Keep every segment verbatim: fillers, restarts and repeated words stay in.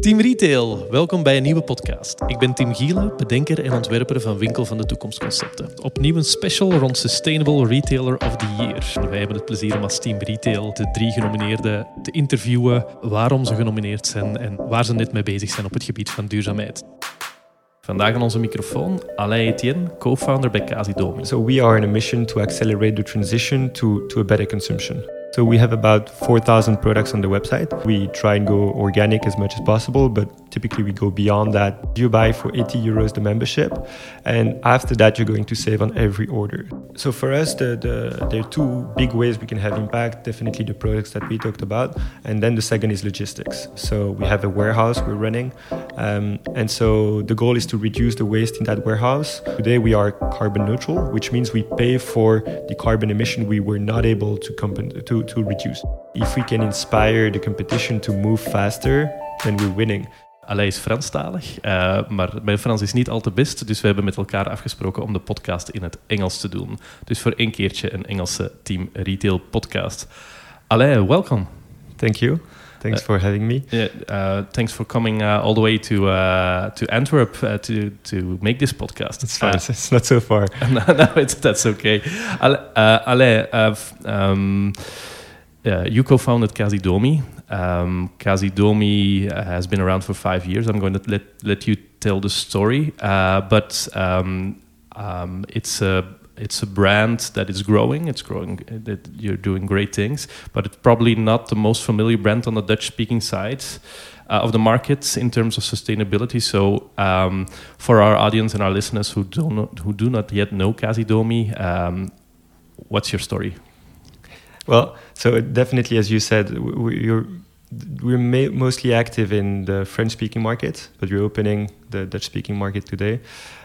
Team Retail, welkom bij een nieuwe podcast. Ik ben Tim Gielen, bedenker en ontwerper van Winkel van de Toekomstconcepten. Opnieuw een special rond Sustainable Retailer of the Year. Wij hebben het plezier om als Team Retail de drie genomineerden te interviewen, waarom ze genomineerd zijn en waar ze net mee bezig zijn op het gebied van duurzaamheid. Vandaag aan onze microfoon Alain Etienne, co-founder bij Casidomi. So we are on a mission to accelerate the transition to, to a better consumption. So we have about four thousand products on the website. We try and go organic as much as possible, but typically we go beyond that. You buy for eighty euros the membership, and after that you're going to save on every order. So for us, the, the, there are two big ways we can have impact. Definitely the products that we talked about, and then the second is logistics. So we have a warehouse we're running, um, and so the goal is to reduce the waste in that warehouse. Today we are carbon neutral, which means we pay for the carbon emission we were not able to compen- to to reduce. If we can inspire the competition to move faster, then we're winning. Alain is Franstalig, uh, maar mijn Frans is niet al te best, dus we hebben met elkaar afgesproken om de podcast in het Engels te doen. Dus voor één keertje een Engelse Team Retail podcast. Alain, welcome. Thank you. Thanks uh, for having me. Yeah, uh, thanks for coming uh, all the way to uh, to Antwerp uh, to to make this podcast. It's fine. Uh, it's not so far. no, no, it's that's okay. Ale, uh, Alain, uh, um, uh, you co-founded Casidomi. Um, Casidomi has been around for five years. I'm going to let let you tell the story, uh, but um, um, it's a It's a brand that is growing. It's growing. That you're doing great things, but it's probably not the most familiar brand on the Dutch-speaking side uh, of the market in terms of sustainability. So, um, for our audience and our listeners who do not who do not yet know Casidomi, um, what's your story? Well, so definitely, as you said, we're we're ma- mostly active in the French-speaking market, but we're opening the Dutch-speaking market today.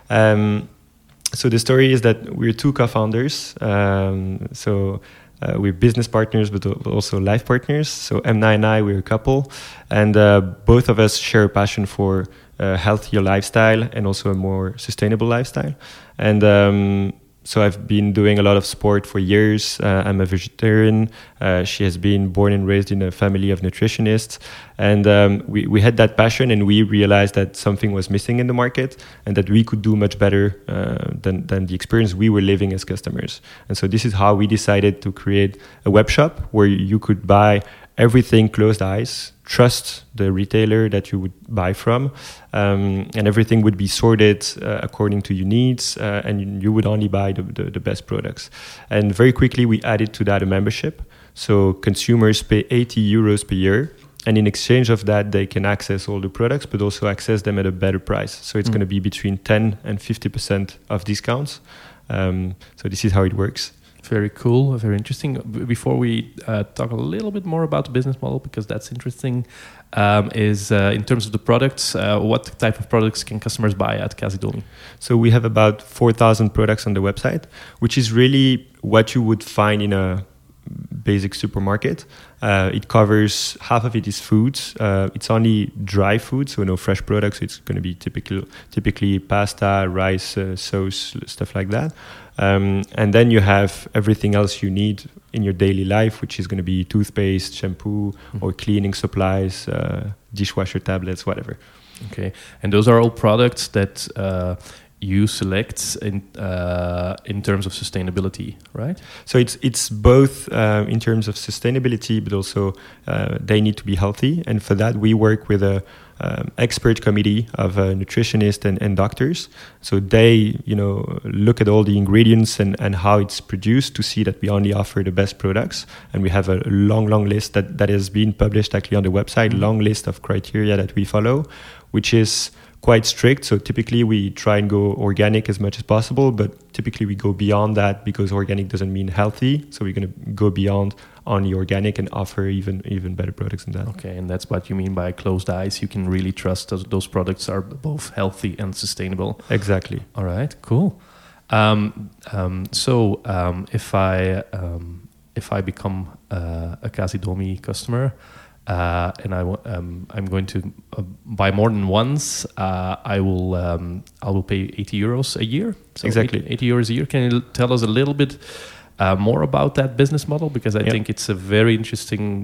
Um, So the story is that we're two co-founders. Um, so uh, we're business partners, but also life partners. So Emna and I, we're a couple, and uh, both of us share a passion for a healthier lifestyle and also a more sustainable lifestyle. And um, so I've been doing a lot of sport for years. Uh, I'm a vegetarian. Uh, she has been born and raised in a family of nutritionists. And um, we, we had that passion, and we realized that something was missing in the market and that we could do much better uh, than, than the experience we were living as customers. And so this is how we decided to create a web shop where you could buy everything closed eyes, trust the retailer that you would buy from, um, and everything would be sorted uh, according to your needs, uh, and you, you would only buy the, the, the best products. And very quickly we added to that a membership. So consumers pay eighty euros per year, and in exchange of that they can access all the products, but also access them at a better price. So it's mm. going to be between ten and fifty percent of discounts. Um, so this is how it works. Very cool, very interesting. Before we uh, talk a little bit more about the business model, because that's interesting, um, is uh, in terms of the products, uh, what type of products can customers buy at Casidomi? So we have about four thousand products on the website, which is really what you would find in a basic supermarket. Uh, it covers, half of it is food. Uh, it's only dry food, so no fresh products. It's going to be typical, typically pasta, rice, uh, sauce, stuff like that. Um, and then you have everything else you need in your daily life, which is going to be toothpaste, shampoo, mm-hmm. or cleaning supplies, uh, dishwasher tablets, whatever. Okay, and those are all products that uh, you select in uh, in terms of sustainability, right? So it's it's both uh, in terms of sustainability, but also uh, they need to be healthy. And for that, we work with a Um, expert committee of uh, nutritionists and, and doctors. So they, you know, look at all the ingredients and, and how it's produced to see that we only offer the best products. And we have a long, long list that, that has been published actually on the website, mm-hmm. long list of criteria that we follow, which is quite strict. So typically we try and go organic as much as possible, but typically we go beyond that because organic doesn't mean healthy. So we're going to go beyond only organic and offer even even better products than that. Okay, and that's what you mean by closed eyes. You can really trust those, those products are both healthy and sustainable. Exactly. All right, cool. Um, um, so um, if I um, if I become uh, a Casidomi customer, uh, and I w- um, I'm going to uh, buy more than once, uh, I will um, I will pay eighty euros a year. So exactly, eighty, eighty euros a year. Can you tell us a little bit uh, more about that business model? Because I yeah. think it's a very interesting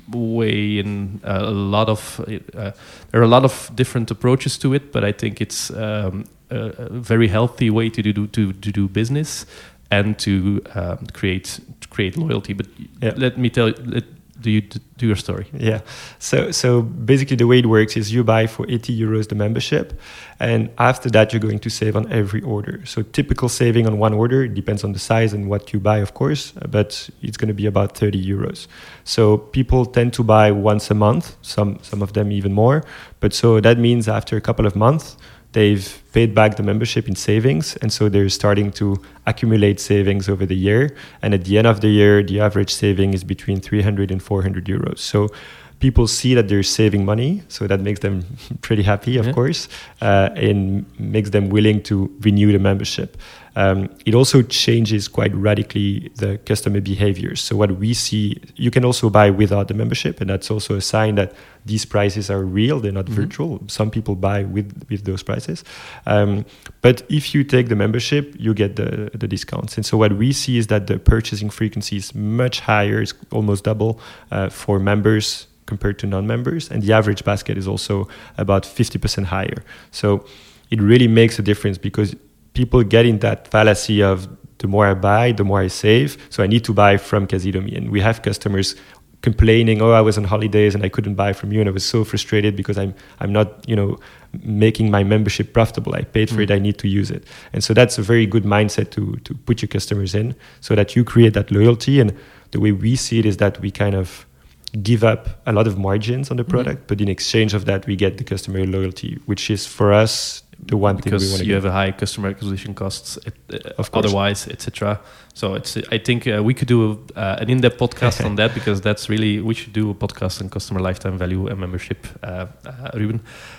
way in a lot of uh, there are a lot of different approaches to it, but I think it's um, a, a very healthy way to do to, to do business and to um, create to create loyalty. But yeah. let me tell you, let, do you do your story? Yeah. So so basically the way it works is you buy for eighty euros the membership, and after that you're going to save on every order. So typical saving on one order, it depends on the size and what you buy, of course, but it's going to be about thirty euros. So people tend to buy once a month, some some of them even more. But so that means after a couple of months, they've paid back the membership in savings, and so they're starting to accumulate savings over the year. And at the end of the year, the average saving is between three hundred and four hundred euros. So people see that they're saving money, so that makes them pretty happy, of yeah. course, uh, and makes them willing to renew the membership. Um, it also changes quite radically the customer behaviors. So what we see, you can also buy without the membership, and that's also a sign that these prices are real, they're not mm-hmm. virtual. Some people buy with, with those prices. Um, but if you take the membership, you get the, the discounts. And so what we see is that the purchasing frequency is much higher, it's almost double uh, for members compared to non-members, and the average basket is also about fifty percent higher. So it really makes a difference, because people get in that fallacy of the more I buy, the more I save, so I need to buy from Casidomi. And we have customers complaining, oh, I was on holidays and I couldn't buy from you, and I was so frustrated because I'm I'm not, you know, making my membership profitable. I paid for mm. it, I need to use it. And so that's a very good mindset to to put your customers in, so that you create that loyalty. And the way we see it is that we kind of give up a lot of margins on the product, mm. but in exchange of that, we get the customer loyalty, which is for us the one because thing we want to you get. have a high customer acquisition costs, it, uh, of otherwise, et cetera. So it's. I think uh, we could do uh, an in-depth podcast on that, because that's really, we should do a podcast on customer lifetime value and membership, uh, uh, Ruben.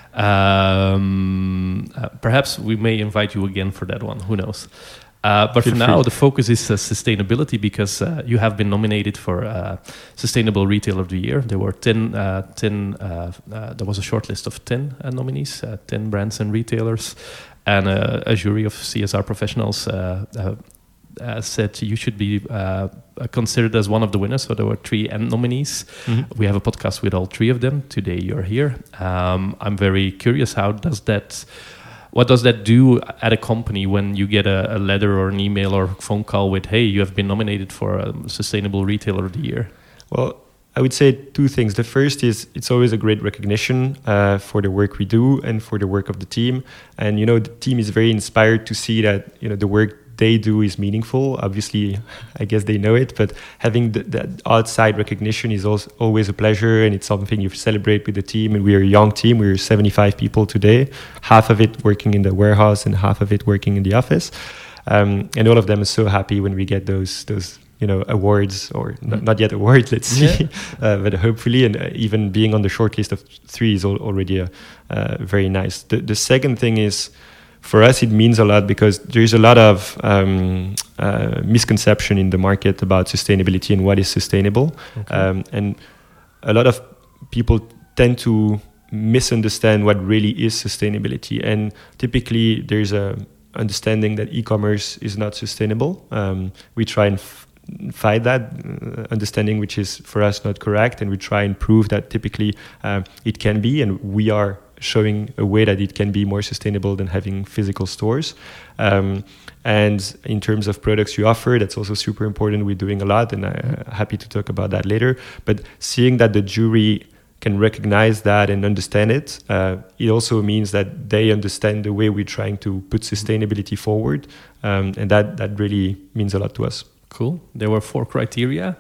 Um, uh, perhaps we may invite you again for that one. Who knows? Uh, but Feel for now, free. The focus is uh, sustainability, because uh, you have been nominated for uh, Sustainable Retailer of the Year. There were ten, uh, ten uh, uh, there was a short list of ten uh, nominees, uh, ten brands and retailers, and uh, a jury of C S R professionals uh, uh, uh, said you should be uh, considered as one of the winners. So there were three end nominees. Mm-hmm. We have a podcast with all three of them. Today you're here. Um, I'm very curious, how does that... What does that do at a company when you get a, a letter or an email or phone call with, hey, you have been nominated for a Sustainable Retailer of the Year? Well, I would say two things. The first is it's always a great recognition uh, for the work we do and for the work of the team. And, you know, the team is very inspired to see that, you know, the work they do is meaningful. Obviously, I guess they know it, but having the, that outside recognition is also always a pleasure, and it's something you celebrate with the team. And we're a young team. We're seventy-five people today, half of it working in the warehouse and half of it working in the office. Um, and all of them are so happy when we get those those you know awards, or mm. not, not yet awards, let's see, yeah. uh, but hopefully, and uh, even being on the short list of three is al- already a, uh, very nice. The, the second thing is, for us, it means a lot, because there's a lot of um, uh, misconception in the market about sustainability and what is sustainable. Okay. Um, and a lot of people tend to misunderstand what really is sustainability. And typically, there's a understanding that e-commerce is not sustainable. Um, we try and f- fight that uh, understanding, which is for us not correct. And we try and prove that typically uh, it can be, and we are showing a way that it can be more sustainable than having physical stores. Um, and in terms of products you offer, that's also super important. We're doing a lot, and I'm happy to talk about that later. But seeing that the jury can recognize that and understand it, uh, it also means that they understand the way we're trying to put sustainability forward. Um, and that, that really means a lot to us. Cool. There were four criteria.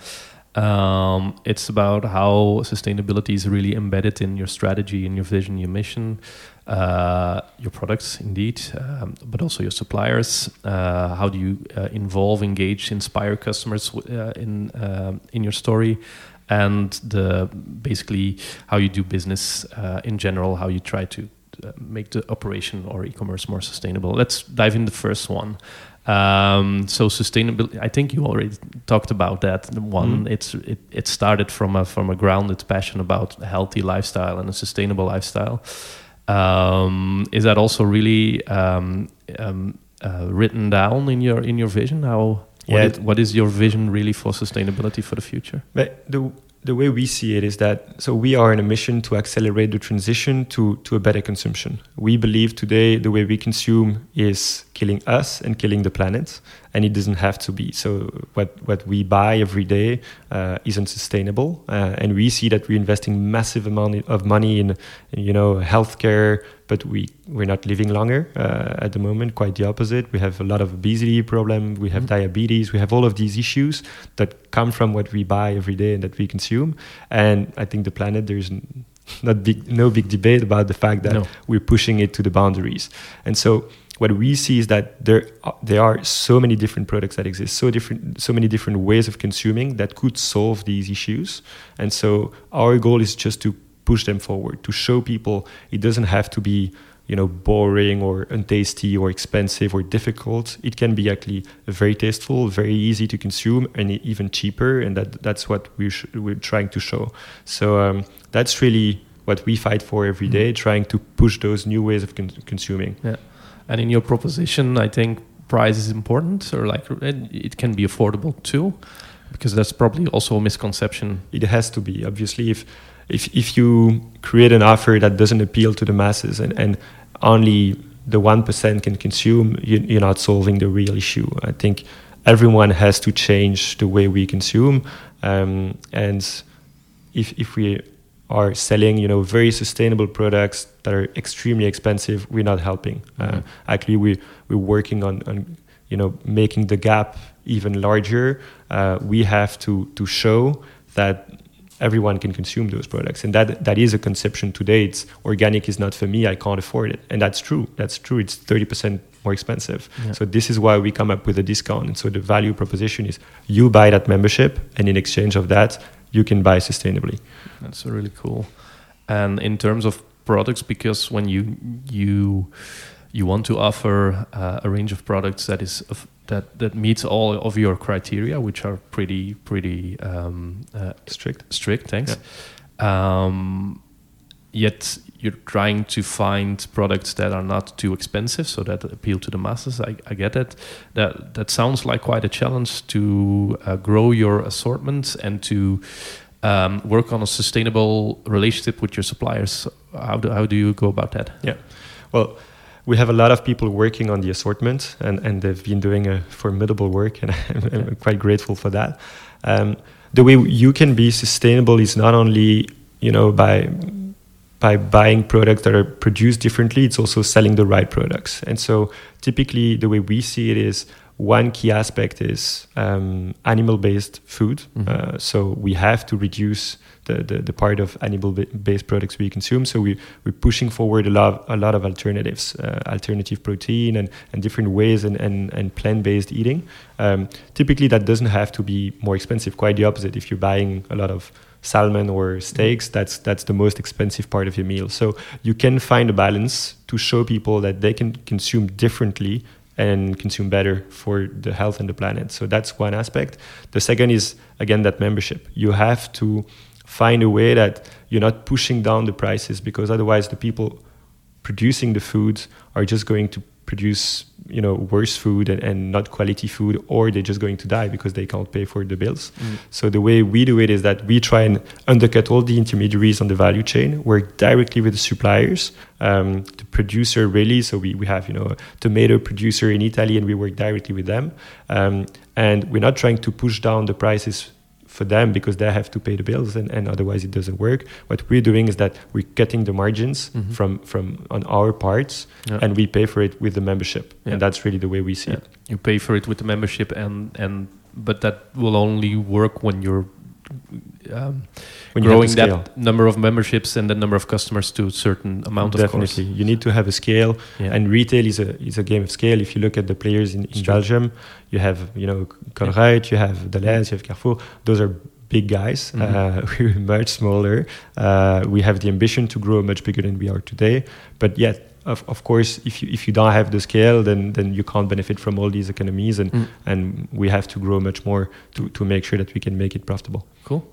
Um, it's about how sustainability is really embedded in your strategy, in your vision, your mission, uh, your products, indeed, um, but also your suppliers. Uh, how do you uh, involve, engage, inspire customers uh, in uh, in your story, and the basically how you do business uh, in general, how you try to uh, make the operation or e-commerce more sustainable. Let's dive in the first one. Um, so sustainability, I think you already talked about that one. Mm. It's it, it started from a from a grounded passion about a healthy lifestyle and a sustainable lifestyle. Um, is that also really um, um, uh, written down in your in your vision? How what, yeah. is, what is your vision really for sustainability for the future? But the the way we see it is that, so we are on a mission to accelerate the transition to, to a better consumption. We believe today the way we consume is killing us and killing the planet, and it doesn't have to be. So what, what we buy every day uh, isn't sustainable, uh, and we see that we're investing massive amount of money in, you know, healthcare, but we, we're not living longer uh, at the moment, quite the opposite. We have a lot of obesity problem, we have mm-hmm. diabetes, we have all of these issues that come from what we buy every day and that we consume. And I think the planet, there's not big, no big debate about the fact that no. we're pushing it to the boundaries. And so what we see is that there are, there are so many different products that exist, so different, so many different ways of consuming that could solve these issues. And so our goal is just to push them forward, to show people it doesn't have to be, you know, boring or untasty or expensive or difficult. It can be actually very tasteful, very easy to consume, and even cheaper. And that that's what we sh- we're trying to show. So um, that's really what we fight for every day, mm-hmm. trying to push those new ways of con- consuming. Yeah, and in your proposition, I think price is important, or like it can be affordable too, because that's probably also a misconception. It has to be, obviously. If If if you create an offer that doesn't appeal to the masses and, and only the one percent can consume, you, you're not solving the real issue. I think everyone has to change the way we consume. Um, and if if we are selling, you know, very sustainable products that are extremely expensive, we're not helping. Mm-hmm. Uh, actually, we, we're working on, on, you know, making the gap even larger. Uh, we have to, to show that everyone can consume those products, and that that is a conception today. It's organic is not for me, I can't afford it, and that's true. That's true. It's thirty percent more expensive. Yeah. So this is why we come up with a discount. And so the value proposition is you buy that membership, and in exchange of that, you can buy sustainably. That's really cool. And in terms of products, because when you you you want to offer uh, a range of products that is of, that that meets all of your criteria, which are pretty pretty um, uh, strict. Strict, thanks. Yeah. Um, yet you're trying to find products that are not too expensive, so that appeal to the masses. I, I get it. That that sounds like quite a challenge to uh, grow your assortment and to um, work on a sustainable relationship with your suppliers. How do how do you go about that? Yeah, well, we have a lot of people working on the assortment, and, and they've been doing a formidable work, and I'm, I'm quite grateful for that. Um, the way you can be sustainable is not only, you know, by by buying products that are produced differently, it's also selling the right products. And so typically the way we see it is one key aspect is um, animal-based food. Mm-hmm. Uh, so we have to reduce the, the, the part of animal-based products we consume. So we, we're pushing forward a lot, a lot of alternatives, uh, alternative protein and, and different ways and, and, and plant-based eating. Um, typically that doesn't have to be more expensive, quite the opposite. If you're buying a lot of salmon or steaks, that's that's the most expensive part of your meal. So you can find a balance to show people that they can consume differently and consume better for the health and the planet. So that's one aspect. The second is, again, that membership. You have to find a way that you're not pushing down the prices, because otherwise the people producing the foods are just going to produce, you know, worse food and, and not quality food, or they're just going to die because they can't pay for the bills. Mm. So the way we do it is that we try and undercut all the intermediaries on the value chain, work directly with the suppliers, um, the producer really. So we, we have, you know, a tomato producer in Italy, and we work directly with them. Um, and we're not trying to push down the prices for them because they have to pay the bills, and, and otherwise it doesn't work. What we're doing is that we're cutting the margins mm-hmm. from, from on our parts, yeah. and we pay for it with the membership. Yeah. And that's really the way we see yeah. it. You pay for it with the membership, and, and but that will only work when you're um, when growing you that number of memberships and the number of customers to a certain amount. Definitely. Of course. You need to have a scale, yeah. and retail is a is a game of scale. If you look at the players in, in Belgium, you have, you know, Colruyt, you have Delhaize, you have Carrefour. Those are big guys. Mm-hmm. Uh, we're much smaller. Uh, we have the ambition to grow much bigger than we are today, but yet. Of, of course, if you if you don't have the scale, then then you can't benefit from all these economies, and mm. and we have to grow much more to, to make sure that we can make it profitable. Cool.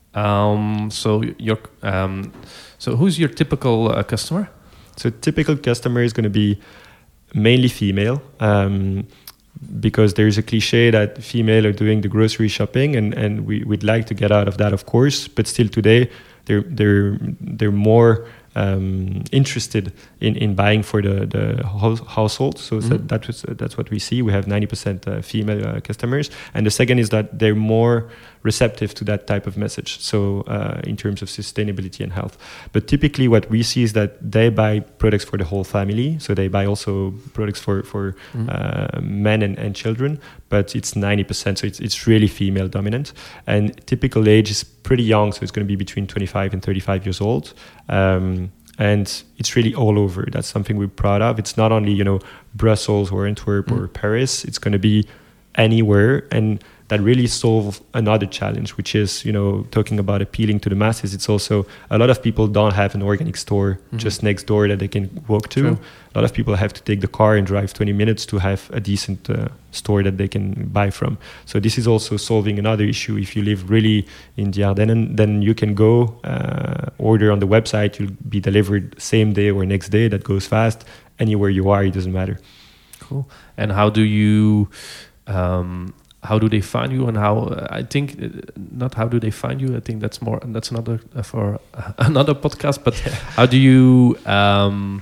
Um, so your um, so who's your typical uh, customer? So typical customer is going to be mainly female. Um, because there is a cliche that female are doing the grocery shopping, and, and we, we'd like to get out of that, of course, but still today they're they're they're more um, interested in, in buying for the, the house, household. So mm-hmm. that, that was, uh, that's what we see. We have ninety percent uh, female uh, customers. And the second is that they're more receptive to that type of message. So uh, in terms of sustainability and health. But typically what we see is that they buy products for the whole family. So they buy also products for, for mm-hmm. uh, men and, and children, but it's ninety percent. So it's, it's really female dominant. And typical age is pretty young. So it's going to be between twenty-five and thirty-five years old. Um, and it's really all over. That's something we're proud of. It's not only, you know, Brussels or Antwerp mm-hmm. or Paris. It's going to be anywhere. And that really solve another challenge, which is, you know, talking about appealing to the masses. It's also a lot of people don't have an organic store mm-hmm. just next door that they can walk to. True. A lot of people have to take the car and drive twenty minutes to have a decent uh, store that they can buy from. So this is also solving another issue. If you live really in the Ardennen, then you can go uh, order on the website. You'll be delivered same day or next day. That goes fast. Anywhere you are, it doesn't matter. Cool. And how do you... Um, How do they find you, and how? Uh, I think uh, not how do they find you. I think that's more. That's another uh, for uh, another podcast. But how do you? Um,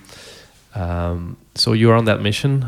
um, so you're on that mission.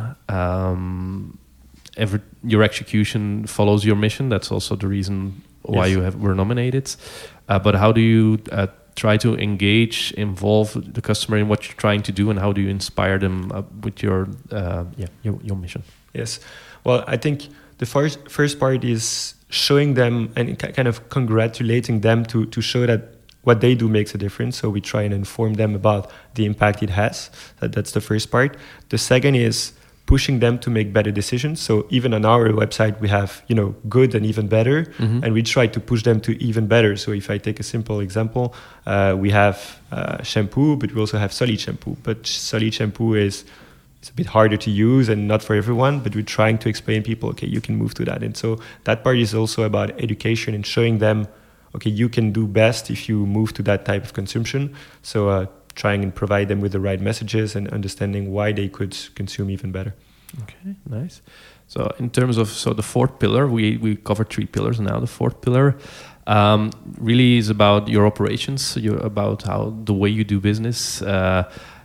Um, every your execution follows your mission. That's also the reason why yes. you have were nominated. Uh, but how do you uh, try to engage, involve the customer in what you're trying to do, and how do you inspire them uh, with your uh, yeah your, your mission? Yes. Well, I think. The first first part is showing them and kind of congratulating them to, to show that what they do makes a difference. So we try and inform them about the impact it has. That, that's the first part. The second is pushing them to make better decisions. So even on our website, we have, you know, good and even better, mm-hmm. and we try to push them to even better. So if I take a simple example, uh, we have uh, shampoo, but we also have solid shampoo. But solid shampoo is... It's a bit harder to use and not for everyone, but we're trying to explain people, okay, you can move to that. And so that part is also about education and showing them, okay, you can do best if you move to that type of consumption. So uh, trying and provide them with the right messages and understanding why they could consume even better. Okay, nice. So in terms of so the fourth pillar, we, we covered three pillars now. The fourth pillar um, really is about your operations, you're about how the way you do business. Uh,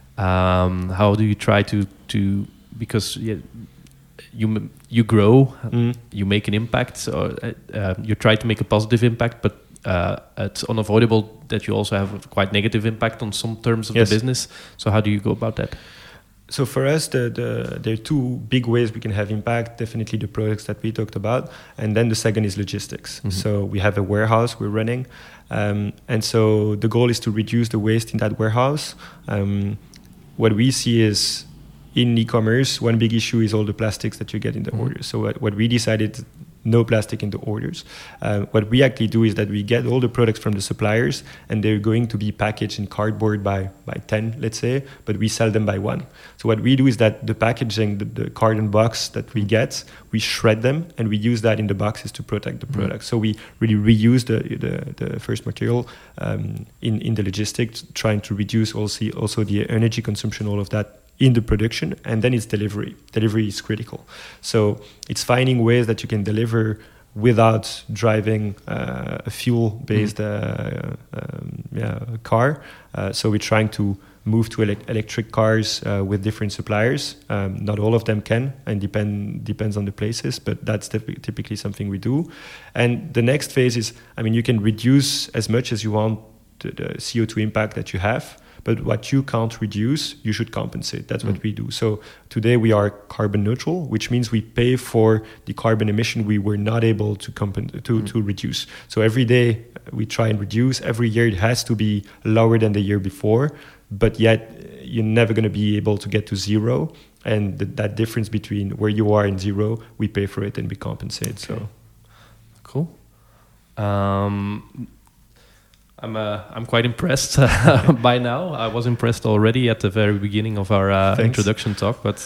Um, how do you try to to because yeah, you you grow, mm. you make an impact, so uh, uh, you try to make a positive impact, but uh, it's unavoidable that you also have a quite negative impact on some terms of yes. the business. So how do you go about that? So for us, the, the, there are two big ways we can have impact. Definitely the products that we talked about, and then the second is logistics. Mm-hmm. So we have a warehouse we're running, um, and so the goal is to reduce the waste in that warehouse. Um, What we see is in e-commerce, one big issue is all the plastics that you get in the mm-hmm. orders. So what, what we decided, no plastic in the orders. Uh, what we actually do is that we get all the products from the suppliers, and they're going to be packaged in cardboard by, by ten, let's say, but we sell them by one. So what we do is that the packaging, the, the carton box that we get, we shred them, and we use that in the boxes to protect the product. Mm-hmm. So we really reuse the the, the first material um, in, in the logistics, trying to reduce also, also the energy consumption, all of that, in the production, and then it's delivery. Delivery is critical. So it's finding ways that you can deliver without driving uh, a fuel-based mm. uh, um, yeah, car. Uh, so we're trying to move to ele- electric cars uh, with different suppliers. Um, not all of them can, and depend depends on the places, but that's typ- typically something we do. And the next phase is, I mean, you can reduce as much as you want the, the C O two impact that you have, but what you can't reduce, you should compensate. That's mm. what we do. So today we are carbon neutral, which means we pay for the carbon emission we were not able to compen- to, mm. to reduce. So every day we try and reduce. Every year it has to be lower than the year before, but yet you're never going to be able to get to zero. And th- that difference between where you are and zero, we pay for it and we compensate. Okay. So cool. Um, I'm uh, I'm quite impressed uh, by now. I was impressed already at the very beginning of our uh, introduction talk. But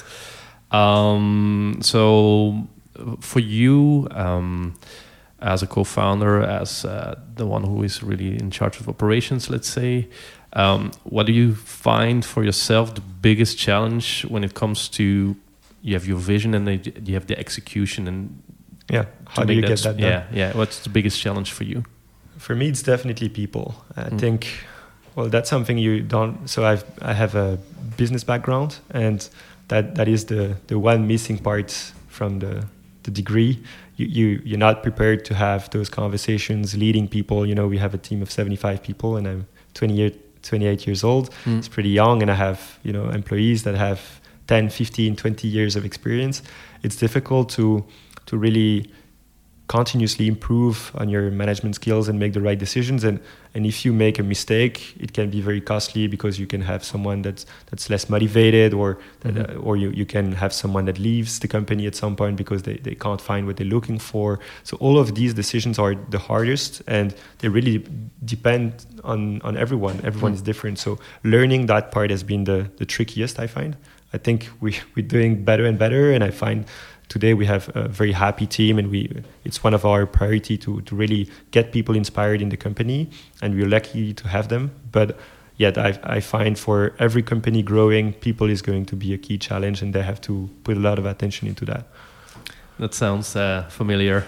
um, so for you, um, as a co-founder, as uh, the one who is really in charge of operations, let's say, um, what do you find for yourself the biggest challenge when it comes to you have your vision and then you have the execution and yeah. How do you get that done? Yeah, yeah. What's the biggest challenge for you? For me, it's definitely people. I Mm. think, well, that's something you don't. So I've I have a business background, and that that is the the one missing part from the the degree. You you you're not prepared to have those conversations, leading people. You know, we have a team of seventy-five people, and I'm twenty-eight years old. Mm. It's pretty young, and I have, you know, employees that have ten, fifteen, twenty years of experience. It's difficult to to really continuously improve on your management skills and make the right decisions. And and if you make a mistake, it can be very costly, because you can have someone that's that's less motivated, or that, Mm-hmm. uh, or you, you can have someone that leaves the company at some point because they, they can't find what they're looking for. So all of these decisions are the hardest, and they really depend on, on everyone. Everyone Mm. is different. So learning that part has been the, the trickiest, I find. I think we, we're doing better and better, and I find today we have a very happy team, and we it's one of our priority to, to really get people inspired in the company, and we're lucky to have them. But yet I, I find for every company growing, people is going to be a key challenge, and they have to put a lot of attention into that. That sounds uh, familiar.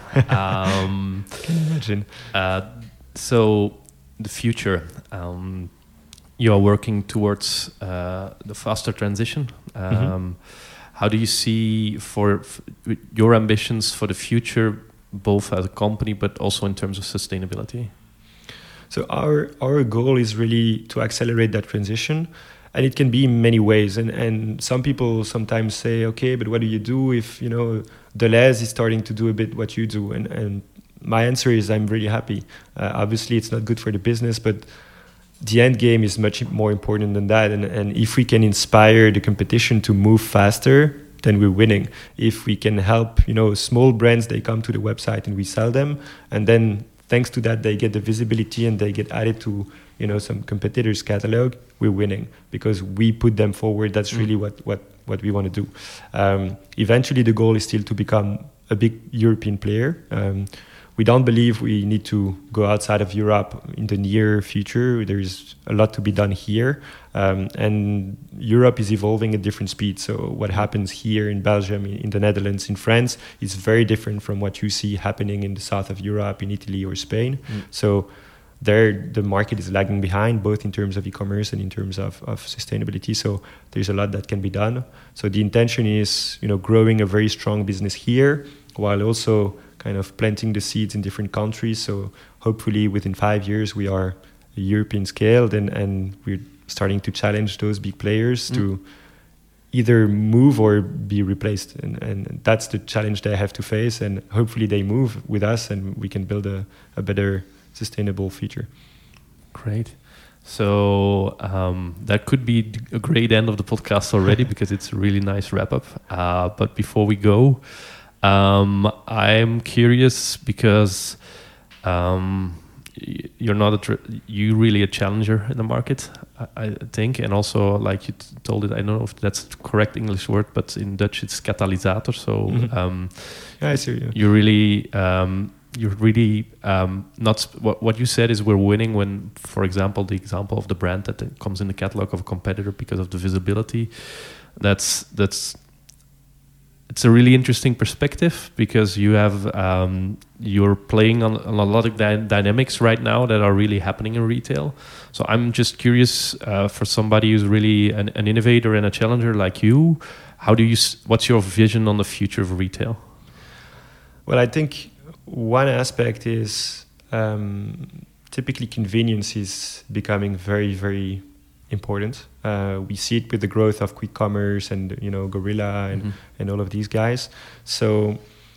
um, Can you imagine? Uh, so the future, um, you are working towards uh, the faster transition. Um, Mm-hmm. How do you see for f- your ambitions for the future, both as a company but also in terms of sustainability? So our our goal is really to accelerate that transition, and it can be in many ways. And and some people sometimes say, okay, but what do you do if, you know, Deleuze is starting to do a bit what you do? And and my answer is I'm really happy. Uh, obviously, it's not good for the business, but the end game is much more important than that. And and if we can inspire the competition to move faster, then we're winning. If we can help, you know, small brands, they come to the website and we sell them, and then thanks to that, they get the visibility and they get added to, you know, some competitors' catalog, we're winning because we put them forward. That's really what, what, what we want to do. Um, eventually, the goal is still to become a big European player. Um, we don't believe we need to go outside of Europe in the near future. There's a lot to be done here. Um, and Europe is evolving at different speeds. So what happens here in Belgium, in the Netherlands, in France, is very different from what you see happening in the south of Europe, in Italy or Spain. Mm. So there, the market is lagging behind, both in terms of e-commerce and in terms of, of sustainability. So there's a lot that can be done. So the intention is, you know, growing a very strong business here, while also kind of planting the seeds in different countries. So hopefully within five years, we are a European scaled, and, and we're starting to challenge those big players mm. to either move or be replaced. And, and that's the challenge they have to face. And hopefully they move with us and we can build a, a better sustainable future. Great. So um, that could be a great end of the podcast already because it's a really nice wrap up. Uh, but before we go, um, I'm curious because um, you're not a tr- you really a challenger in the market, I, I think, and also like you t- told it. I don't know if that's the correct English word, but in Dutch it's katalysator. So Mm-hmm. um, yeah, I see you. You really. Um, You're really um, not. Sp- what what you said is we're winning when, for example, the example of the brand that comes in the catalog of a competitor because of the visibility. That's that's. It's a really interesting perspective because you have um, you're playing on, on a lot of dy- dynamics right now that are really happening in retail. So I'm just curious uh, for somebody who's really an, an innovator and a challenger like you. How do you? S- what's your vision on the future of retail? Well, I think. One aspect is um, typically convenience is becoming very, very important. Uh, we see it with the growth of quick commerce and, you know, Gorilla and, mm-hmm. and all of these guys. So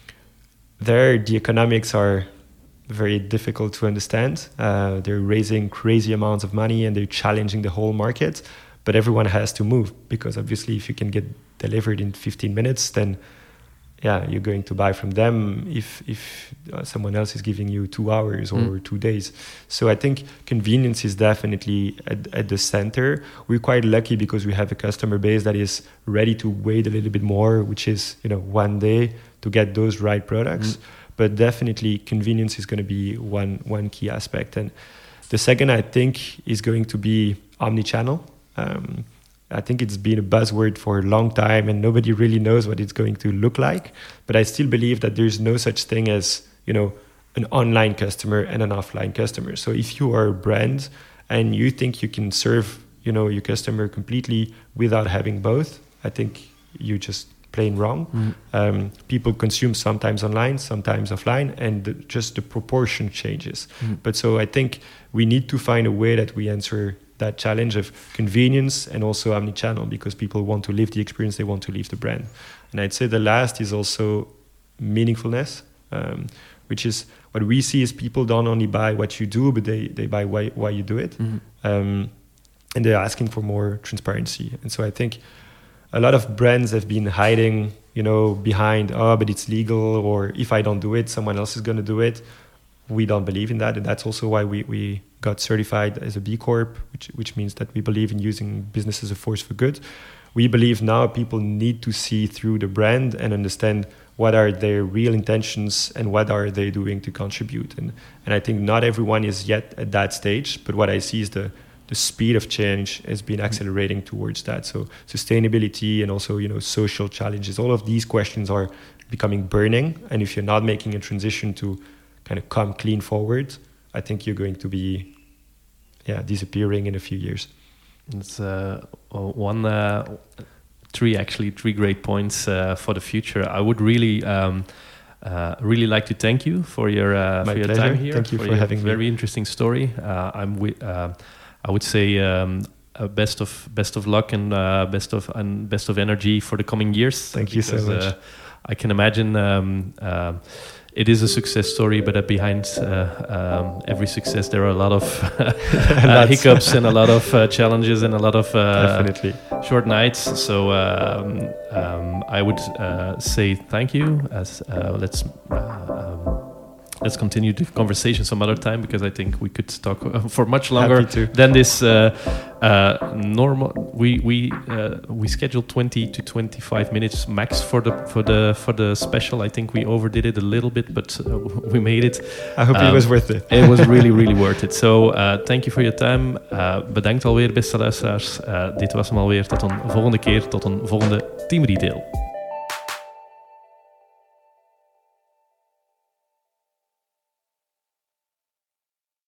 there, the economics are very difficult to understand. Uh, they're raising crazy amounts of money and they're challenging the whole market. But everyone has to move because obviously if you can get delivered in fifteen minutes, then yeah, you're going to buy from them if if uh, someone else is giving you two hours or mm. two days. So I think convenience is definitely at, at the center. We're quite lucky because we have a customer base that is ready to wait a little bit more, which is, you know, one day to get those right products. Mm. But definitely convenience is going to be one one key aspect. And the second, I think, is going to be omnichannel. Um, I think it's been a buzzword for a long time and nobody really knows what it's going to look like. But I still believe that there's no such thing as, you know, an online customer and an offline customer. So if you are a brand and you think you can serve, you know, your customer completely without having both, I think you just plain wrong. Mm. Um, people consume sometimes online, sometimes offline, and the, just the proportion changes. Mm. But so I think we need to find a way that we answer that challenge of convenience and also omnichannel, because people want to live the experience, they want to live the brand. And I'd say the last is also meaningfulness, um, which is what we see is people don't only buy what you do, but they, they buy why, why you do it. Mm-hmm. Um, and they're asking for more transparency. And so I think a lot of brands have been hiding, you know, behind, oh, but it's legal, or if I don't do it, someone else is going to do it. We don't believe in that. And that's also why we, we got certified as a B Corp, which, which means that we believe in using business as a force for good. We believe now people need to see through the brand and understand what are their real intentions and what are they doing to contribute. And, and I think not everyone is yet at that stage, but what I see is the the speed of change has been accelerating towards that. So sustainability and also, you know, social challenges, all of these questions are becoming burning. And if you're not making a transition to kind of come clean forward, I think you're going to be, yeah, disappearing in a few years. It's uh, one, uh, three actually, three great points uh, for the future. I would really, um, uh, really like to thank you for your uh, My for your pleasure. time here. Thank you for, for your having very me. interesting story. Uh, I'm with. Uh, I would say um, uh, best of best of luck and uh, best of and best of energy for the coming years. Thank because, you so much. Uh, I can imagine um, uh, it is a success story, but uh, behind uh, um, every success there are a lot of uh, hiccups and a lot of uh, challenges and a lot of uh, definitely short nights. So um, um, I would uh, say thank you. As uh, let's. Uh, um, Let's continue the conversation some other time, because I think we could talk for much longer than this uh, uh, normal. We we uh, we scheduled twenty to twenty-five minutes max for the for the for the special. I think we overdid it a little bit, but uh, we made it. I hope um, it was worth it. It was really really worth it. So uh, thank you for your time. Uh, bedankt alweer, beste luisteraars. Uh, dit was hem alweer. Tot een volgende keer. Tot een volgende Team Retail.